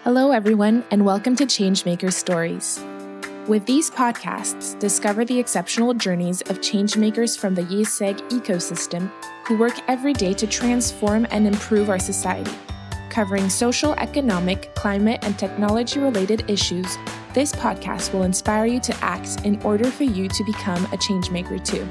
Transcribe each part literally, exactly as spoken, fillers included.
Hello, everyone, and welcome to Changemakers Stories. With these podcasts, discover the exceptional journeys of changemakers from the YISEG ecosystem who work every day to transform and improve our society. Covering social, economic, climate, and technology-related issues, this podcast will inspire you to act in order for you to become a changemaker too.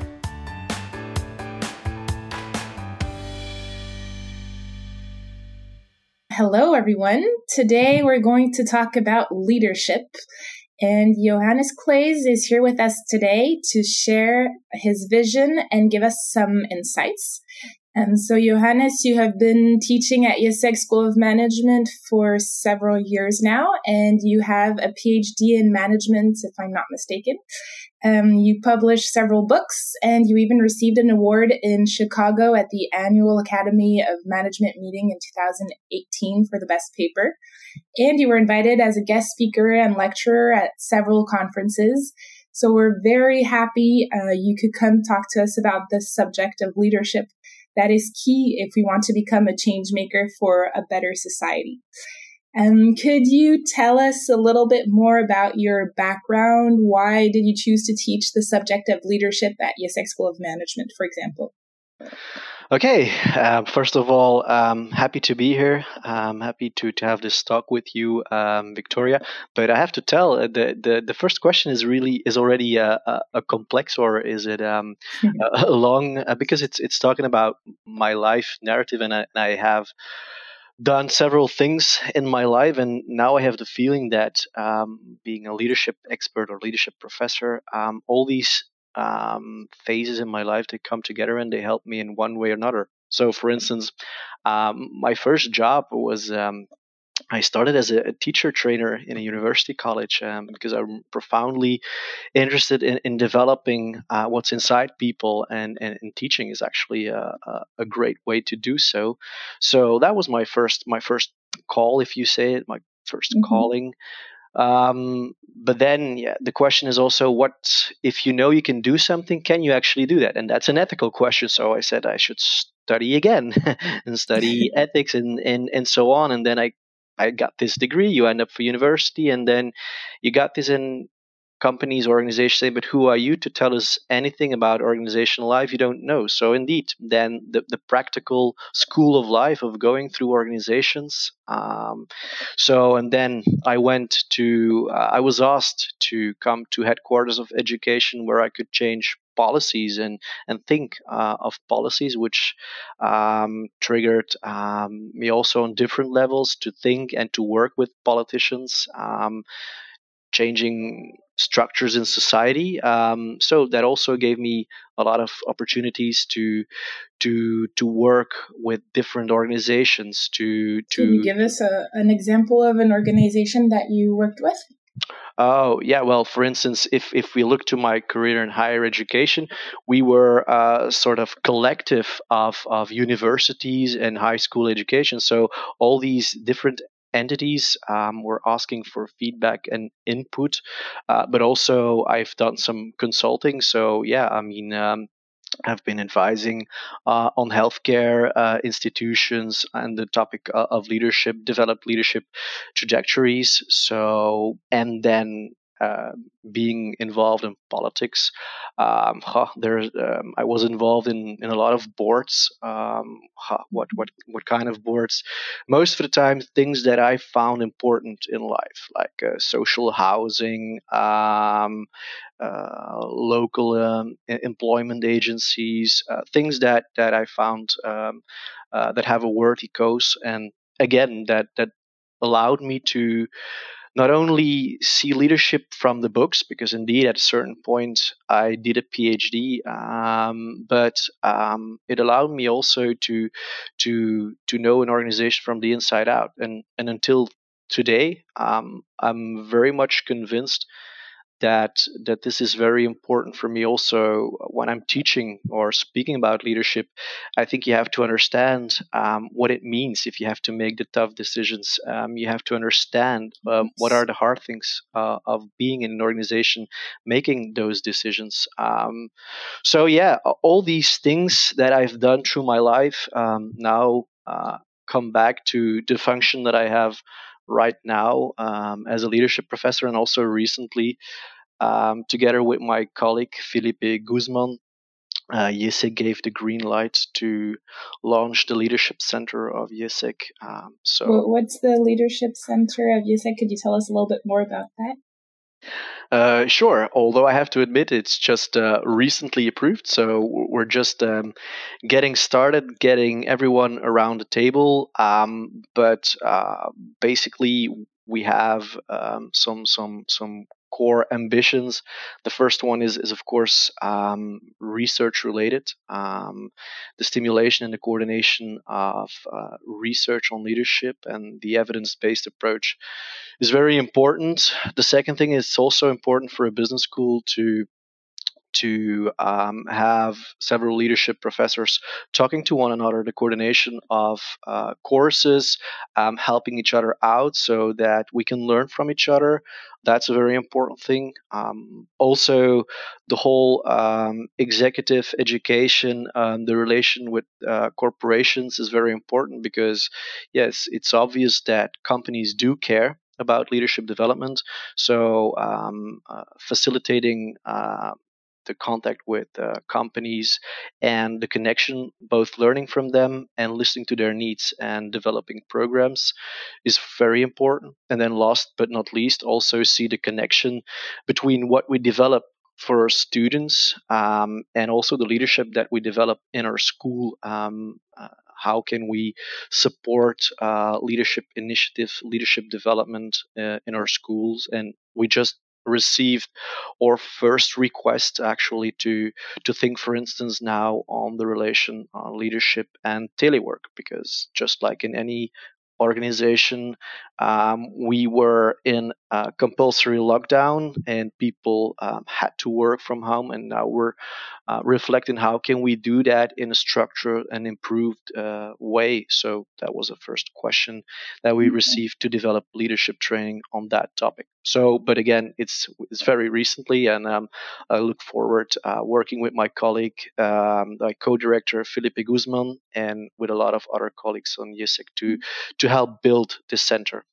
Hello, everyone. Today we're going to talk about leadership. And Johannes Claes is here with us today to share his vision and give us some insights. And so, Johannes, you have been teaching at YISEG School of Management for several years now, and you have a P H D in management, if I'm not mistaken. Um, you published several books, and you even received an award in Chicago at the Annual Academy of Management meeting in two thousand eighteen for the best paper. And you were invited as a guest speaker and lecturer at several conferences. So we're very happy uh, you could come talk to us about this subject of leadership. That is key if we want to become a change maker for a better society. Um, could you tell us a little bit more about your background? Why did you choose to teach the subject of leadership at YISEG School of Management, for example? Okay, uh, first of all, um, happy to be here. I'm happy to, to have this talk with you, um, Victoria. But I have to tell, uh, the, the, the first question is really is already a, a, a complex, or is it um, a, a long? Uh, because it's it's talking about my life narrative, and I, and I have done several things in my life, and now I have the feeling that um, being a leadership expert or leadership professor, um, all these um, phases in my life, they come together and they help me in one way or another. So, for instance, um, my first job was um, I started as a, a teacher trainer in a university college um, because I'm profoundly interested in, in developing uh, what's inside people, and, and, and teaching is actually a, a, a great way to do so. So that was my first my first call, if you say it, my first mm-hmm. calling. Um, but then, yeah, the question is also, what if you know you can do something? Can you actually do that? And that's an ethical question. So I said I should study again and study ethics and, and and so on. And then I I got this degree. You end up for university, and then you got this in companies, organizations say, but who are you to tell us anything about organizational life? You don't know. So indeed, then the, the practical school of life of going through organizations. Um, so, and then I went to, uh, I was asked to come to headquarters of education where I could change policies and and think uh, of policies, which um, triggered um, me also on different levels to think and to work with politicians. Um, changing structures in society. Um, so that also gave me a lot of opportunities to to to work with different organizations. To to Can you give us a, an example of an organization that you worked with? Oh, yeah. Well, for instance, if, if we look to my career in higher education, we were a sort of collective of, of universities and high school education. So all these different entities um, were asking for feedback and input, uh, but also I've done some consulting. So, yeah, I mean, um, I've been advising uh, on healthcare uh, institutions and the topic uh, of leadership, developed leadership trajectories. So, and then uh, being involved in politics, um, huh, there um, I was involved in, in a lot of boards. Um, huh, what what what kind of boards? Most of the time, things that I found important in life, like uh, social housing. Um, uh, local um, employment agencies, uh, things that that I found um, uh, that have a worthy cause, and again that that allowed me to not only see leadership from the books, because indeed at a certain point I did a P H D, um, but um, it allowed me also to to to know an organization from the inside out, and and until today, um, I'm very much convinced that that this is very important for me also when I'm teaching or speaking about leadership. I think you have to understand um, what it means if you have to make the tough decisions. Um, you have to understand um, what are the hard things uh, of being in an organization, making those decisions. Um, so yeah, all these things that I've done through my life um, now uh, come back to the function that I have right now um, as a leadership professor, and also recently um, together with my colleague Felipe Guzman, uh, I E S E C gave the green light to launch the leadership center of I E S E C. Um, so, What's the leadership center of I E S E C? Could you tell us a little bit more about that? Uh, sure. Although I have to admit, it's just uh, recently approved, so we're just um, getting started, getting everyone around the table. Um, but uh, basically, we have um, some some some core ambitions. The first one is is of course um, research related. Um, the stimulation and the coordination of uh, research on leadership and the evidence based approach is very important. The second thing is also important for a business school to to um, have several leadership professors talking to one another, the coordination of uh, courses, um, helping each other out so that we can learn from each other. That's a very important thing. Um, also, the whole um, executive education, um, the relation with uh, corporations is very important because, yes, it's obvious that companies do care about leadership development. So, um, uh, facilitating uh, the contact with uh, companies and the connection, both learning from them and listening to their needs and developing programs is very important. And then last but not least, also see the connection between what we develop for our students um, and also the leadership that we develop in our school. Um, uh, how can we support uh, leadership initiative, leadership development uh, in our schools? And we just received our first request actually to to think, for instance, now on the relation uh, leadership and telework, because just like in any organization, um, we were in a compulsory lockdown and people um, had to work from home, and now we're uh, reflecting how can we do that in a structured and improved uh, way. So that was the first question that we received to develop leadership training on that topic. So, but again, it's it's very recently, and um, I look forward uh, working with my colleague, um, my co-director Felipe Guzman, and with a lot of other colleagues on I E S E C to to help build this center.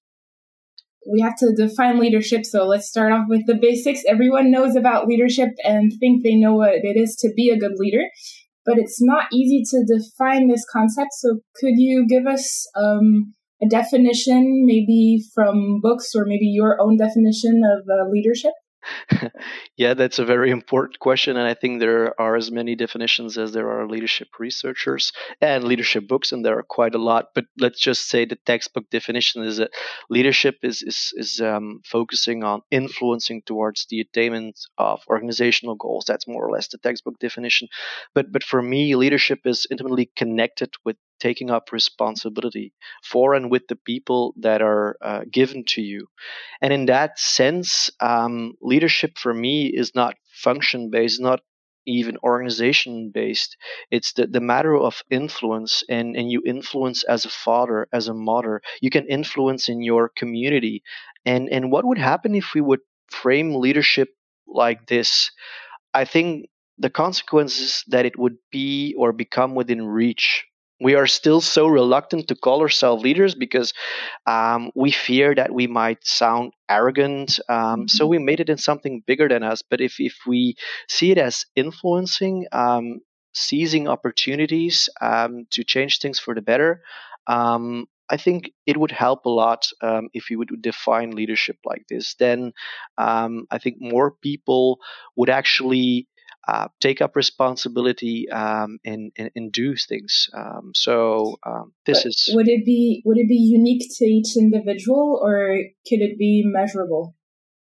We have to define leadership, so let's start off with the basics. Everyone knows about leadership and think they know what it is to be a good leader, but it's not easy to define this concept. So could you give us um, a definition, maybe from books or maybe your own definition of uh, leadership? Yeah, that's a very important question. And I think there are as many definitions as there are leadership researchers and leadership books, and there are quite a lot. But let's just say the textbook definition is that leadership is, is, is um, focusing on influencing towards the attainment of organizational goals. That's more or less the textbook definition. But, but for me, leadership is intimately connected with taking up responsibility for and with the people that are uh, given to you. And in that sense, um, leadership for me is not function based, not even organization based. It's the, the matter of influence, and, and you influence as a father, as a mother. You can influence in your community. And, and what would happen if we would frame leadership like this? I think the consequences that it would be or become within reach. We are still so reluctant to call ourselves leaders because um, we fear that we might sound arrogant. Um, so we made it in something bigger than us. But if, if we see it as influencing, um, seizing opportunities um, to change things for the better, um, I think it would help a lot um, if we would define leadership like this. Then um, I think more people would actually uh, take up responsibility um, and, and, and do things. Um, so um, this But is would it be would it be unique to each individual, or could it be measurable?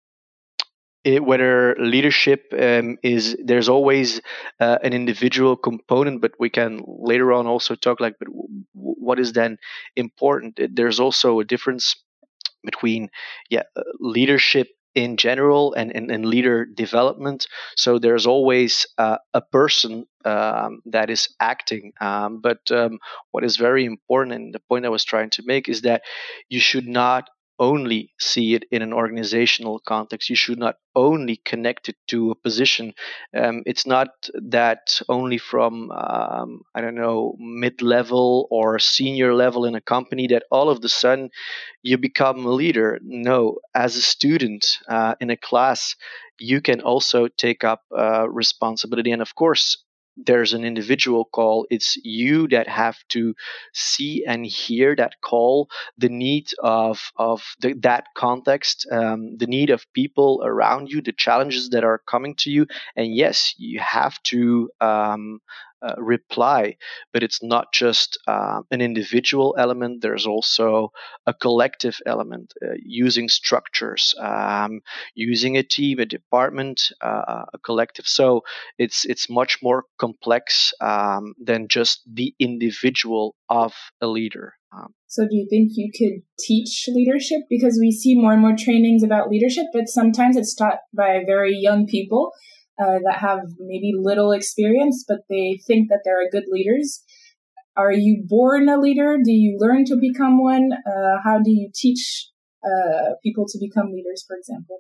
it, whether leadership um, is there's always uh, an individual component, but we can later on also talk like, but w- what is then important? There's also a difference between yeah uh, leadership in general and, and, and leader development. So there's always uh, a person um, that is acting. Um, but um, what is very important, and the point I was trying to make, is that you should not only see it in an organizational context. You should not only connect it to a position. Um, it's not that only from, um, I don't know, mid level or senior level in a company that all of the sudden you become a leader. No, as a student uh, in a class, you can also take up uh, responsibility. And of course, there's an individual call. It's you that have to see and hear that call, the need of of the, that context, um, the need of people around you, the challenges that are coming to you, and yes, you have to um, uh, reply. But it's not just uh, an individual element. There's also a collective element, uh, using structures, um, using a team, a department, uh, a collective. So it's it's much more complex um, than just the individual of a leader. Um, so do you think you could teach leadership? Because we see more and more trainings about leadership, but sometimes it's taught by very young people uh, that have maybe little experience, but they think that they're good leaders. Are you born a leader? Do you learn to become one? Uh, how do you teach uh, people to become leaders, for example?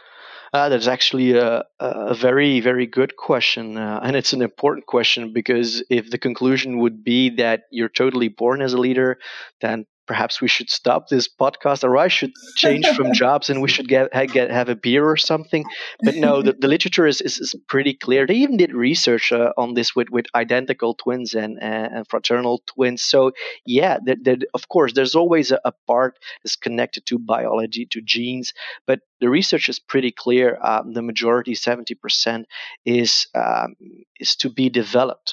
Uh, that's actually a, a very, very good question. Uh, and it's an important question, because if the conclusion would be that you're totally born as a leader, then perhaps we should stop this podcast, or I should change from jobs and we should get, get have a beer or something. But no, the, the literature is, is, is pretty clear. They even did research uh, on this with, with identical twins and, uh, and fraternal twins. So yeah, that, that, of course, there's always a, a part that's connected to biology, to genes, but the research is pretty clear. Um, the majority, seventy percent, is um, is to be developed.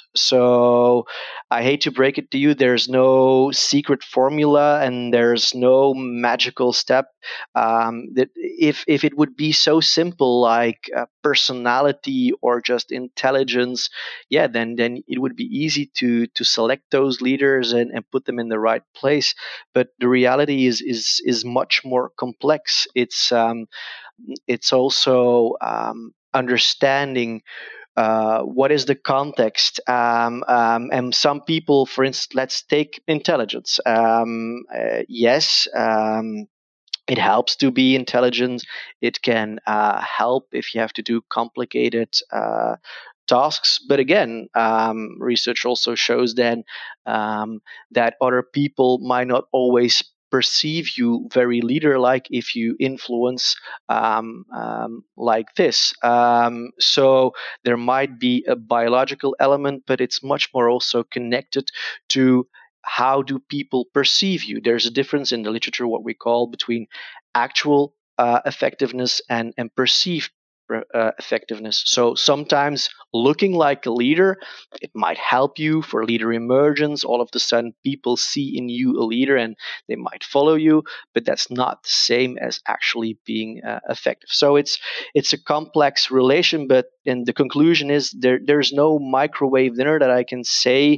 So I hate to break it to you, there's no secret formula and there's no magical step. Um, that if if it would be so simple, like uh, personality or just intelligence, yeah, then then it would be easy to to select those leaders and, and put them in the right place. But the reality is is is much more complex. It's um, it's also um, understanding uh, what is the context. Um, um, and some people, for instance, let's take intelligence. Um, uh, yes. Um, it helps to be intelligent. It can uh, help if you have to do complicated uh, tasks. But again, um, research also shows then um, that other people might not always perceive you very leader-like if you influence um, um, like this. Um, so there might be a biological element, but it's much more also connected to how do people perceive you. There's a difference in the literature, what we call, between actual uh, effectiveness and, and perceived uh, effectiveness. So sometimes looking like a leader, it might help you for leader emergence. All of a sudden, people see in you a leader and they might follow you, but that's not the same as actually being uh, effective. So it's it's a complex relation, but and the conclusion is there there's no microwave dinner that I can say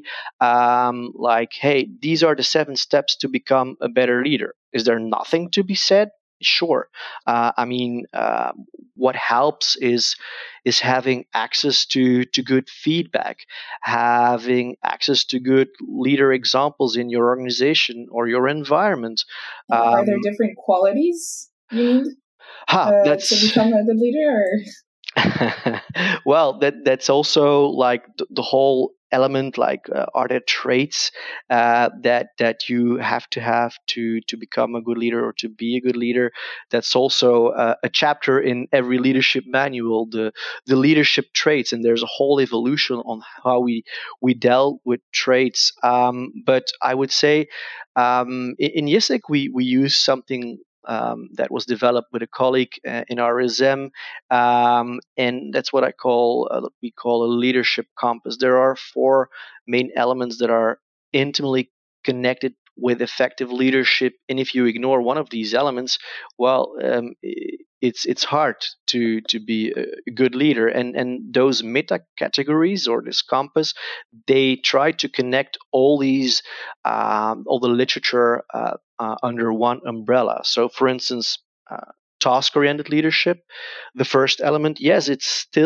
um, like, hey, these are the seven steps to become a better leader. Is there nothing to be said? Sure. Uh, I mean, uh, what helps is is having access to to good feedback, having access to good leader examples in your organization or your environment. Um, are there Um, different qualities you need ha, uh, to that's become a good leader? Or? well, that that's also like the, the whole element. Like, uh, are there traits uh, that that you have to have to to become a good leader or to be a good leader? That's also uh, a chapter in every leadership manual. The the leadership traits, and there's a whole evolution on how we we dealt with traits. Um, but I would say um, in, in YISIC we we use something. Um, that was developed with a colleague uh, in R S M, um, and that's what I call uh, we call a leadership compass. There are four main elements that are intimately connected with effective leadership, and if you ignore one of these elements, well, um, it's it's hard to to be a good leader. And and those meta categories or this compass, they try to connect all these um, all the literature uh, uh, under one umbrella. So, for instance. Uh, task oriented leadership, the first element, yes, it's still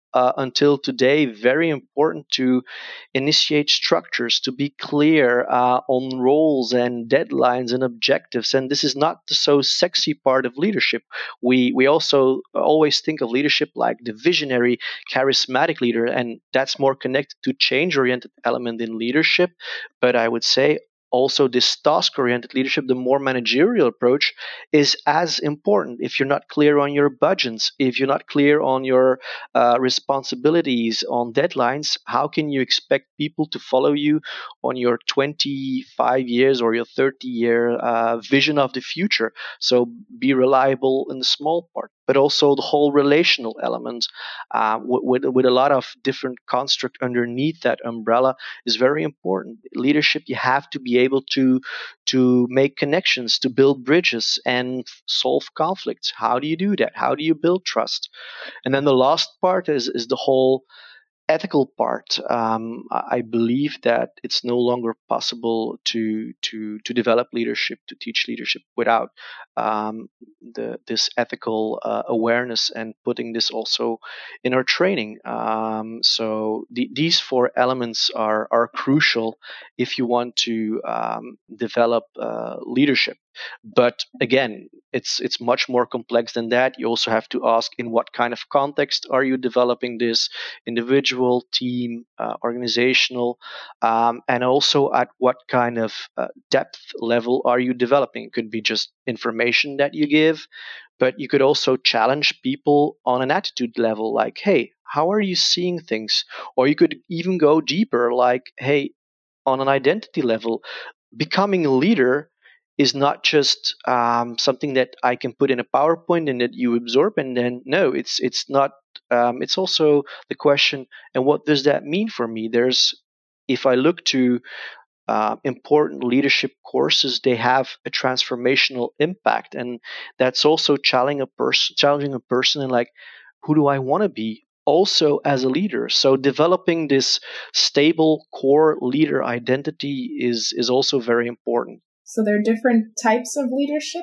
uh, until today very important to initiate structures, to be clear uh, on roles and deadlines and objectives. And this is not the so sexy part of leadership. We we also always think of leadership like the visionary, charismatic leader, and that's more connected to change-oriented element in leadership. But I would say also this task-oriented leadership, the more managerial approach, is as important. If you're not clear on your budgets, if you're not clear on your uh, responsibilities, on deadlines, how can you expect people to follow you on your twenty-five years or your thirty year uh, vision of the future? So be reliable in the small part, but also the whole relational element uh, with, with a lot of different construct underneath that umbrella is very important. Leadership, you have to be able to to make connections, to build bridges and solve conflicts. How do you do that? How do you build trust? And then the last part is is the whole ethical part. Um, I believe that it's no longer possible to to to develop leadership, to teach leadership without um, the this ethical uh, awareness and putting this also in our training. Um, so the, these four elements are are crucial if you want to um, develop uh, leadership. But again, it's it's much more complex than that. You also have to ask in what kind of context are you developing this, individual, team, uh, organizational, um, and also at what kind of uh, depth level are you developing. It could be just information that you give, but you could also challenge people on an attitude level, like, hey, how are you seeing things? Or you could even go deeper, like, hey, on an identity level, becoming a leader is not just um, something that I can put in a PowerPoint and that you absorb, and then no, it's it's not. Um, it's also the question, and what does that mean for me? There's, if I look to uh, important leadership courses, they have a transformational impact, and that's also challenging a person, challenging a person, and like, who do I want to be? Also as a leader. So developing this stable core leader identity is is also very important. So there are different types of leadership?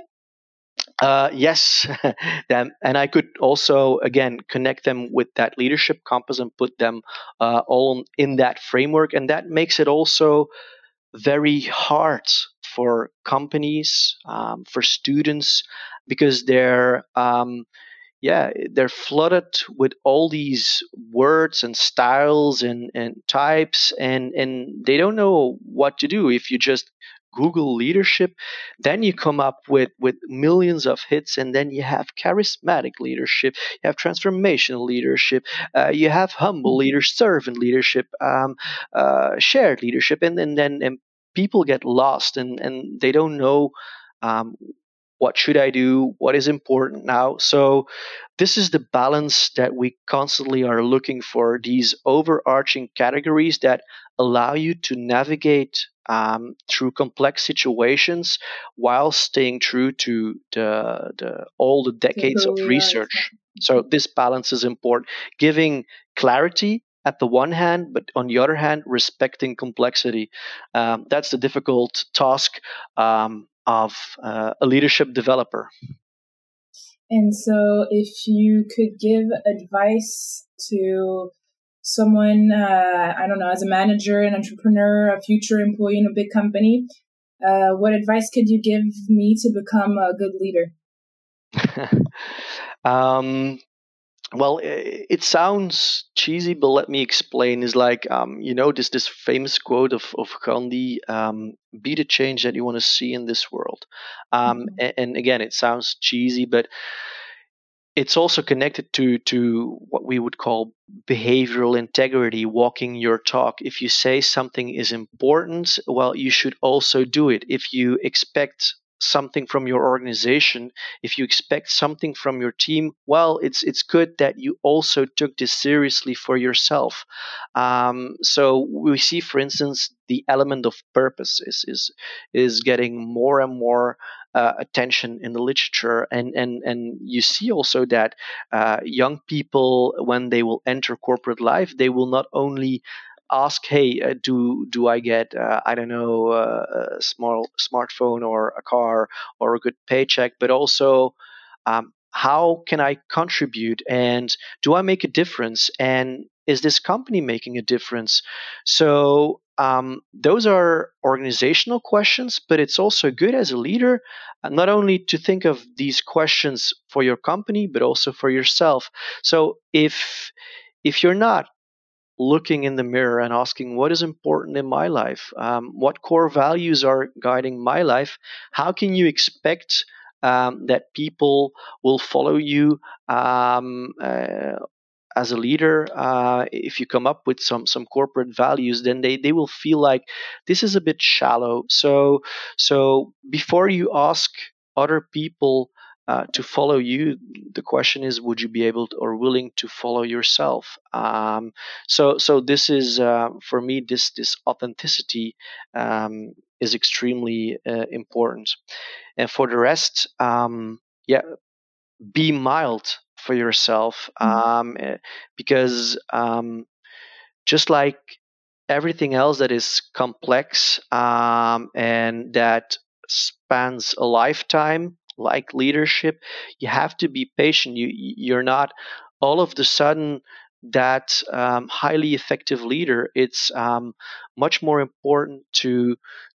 Uh, yes, them, and I could also again connect them with that leadership compass and put them uh, all in that framework, and that makes it also very hard for companies, um, for students, because they're um, yeah, they're flooded with all these words and styles and, and types, and, and they don't know what to do. If you just Google leadership, then you come up with, with millions of hits, and then you have charismatic leadership, you have transformational leadership, uh, you have humble leaders, servant leadership, um, uh, shared leadership, and, and then and people get lost, and, and they don't know um, what should I do, what is important now. So this is the balance that we constantly are looking for, these overarching categories that allow you to navigate um, through complex situations while staying true to the, the all the decades of research. So this balance is important, giving clarity at the one hand, but on the other hand, respecting complexity. Um, that's the difficult task um, of uh, a leadership developer. And so, if you could give advice to someone, uh, I don't know, as a manager, an entrepreneur, a future employee in a big company, uh, what advice could you give me to become a good leader? um, well, it, it sounds cheesy, but let me explain. Is like, um, you know, this this famous quote of of Gandhi: um, "Be the change that you want to see in this world." Um, mm-hmm. and, and again, it sounds cheesy, but it's also connected to to what we would call behavioral integrity, walking your talk. If you say something is important, well, you should also do it. If you expect something from your organization, if you expect something from your team, well, it's it's good that you also took this seriously for yourself. Um, so we see, for instance, the element of purpose is is is getting more and more uh, attention in the literature, and and and you see also that uh, young people, when they will enter corporate life, they will not only ask, hey, uh, do do I get uh, I don't know uh, a small smartphone or a car or a good paycheck, but also um, how can I contribute, and do I make a difference, and is this company making a difference? So um, those are organizational questions, but it's also good as a leader uh, not only to think of these questions for your company, but also for yourself. So if if you're not looking in the mirror and asking what is important in my life, um, what core values are guiding my life, how can you expect um, that people will follow you um, uh, as a leader? Uh, if you come up with some some corporate values, then they, they will feel like this is a bit shallow. So so before you ask other people uh, to follow you, the question is, would you be able to, or willing to follow yourself? Um, so so this is uh, for me, this this authenticity um, is extremely uh, important. And for the rest, um, yeah, be mild for yourself, um, eh, because um, just like everything else that is complex um, and that spans a lifetime, like leadership, you have to be patient. You you're not all of the sudden that um, highly effective leader. It's um, much more important to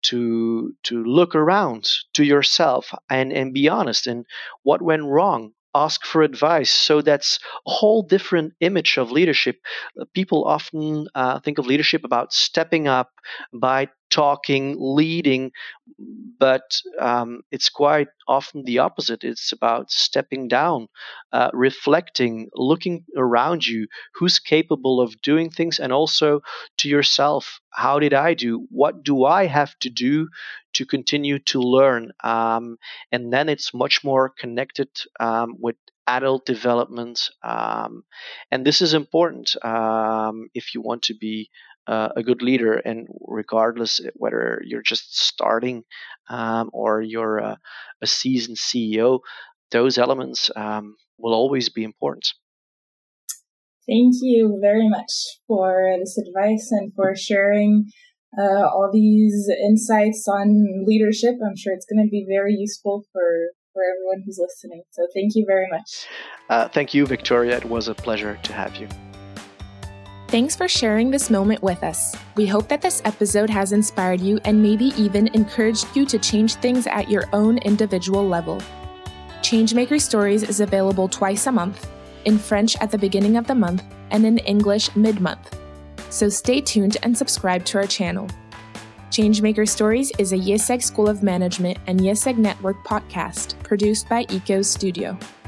to to look around to yourself and and be honest. And what went wrong? Ask for advice. So that's a whole different image of leadership. Uh, People often uh, think of leadership about stepping up by talking, leading, but um, it's quite often the opposite. It's about stepping down, uh, reflecting, looking around you, who's capable of doing things, and also to yourself. How did I do? What do I have to do to continue to learn? Um, and then it's much more connected um, with adult development. Um, and this is important um, if you want to be uh, a good leader, and regardless whether you're just starting um, or you're a, a seasoned C E O, those elements um, will always be important. Thank you very much for this advice and for sharing uh, all these insights on leadership. I'm sure it's going to be very useful for, for everyone who's listening. So thank you very much. Uh, thank you, Victoria. It was a pleasure to have you. Thanks for sharing this moment with us. We hope that this episode has inspired you and maybe even encouraged you to change things at your own individual level. Changemaker Stories is available twice a month, in French at the beginning of the month and in English mid-month. So stay tuned and subscribe to our channel. Changemaker Stories is a IÉSEG School of Management and IÉSEG Network podcast produced by Ecos Studio.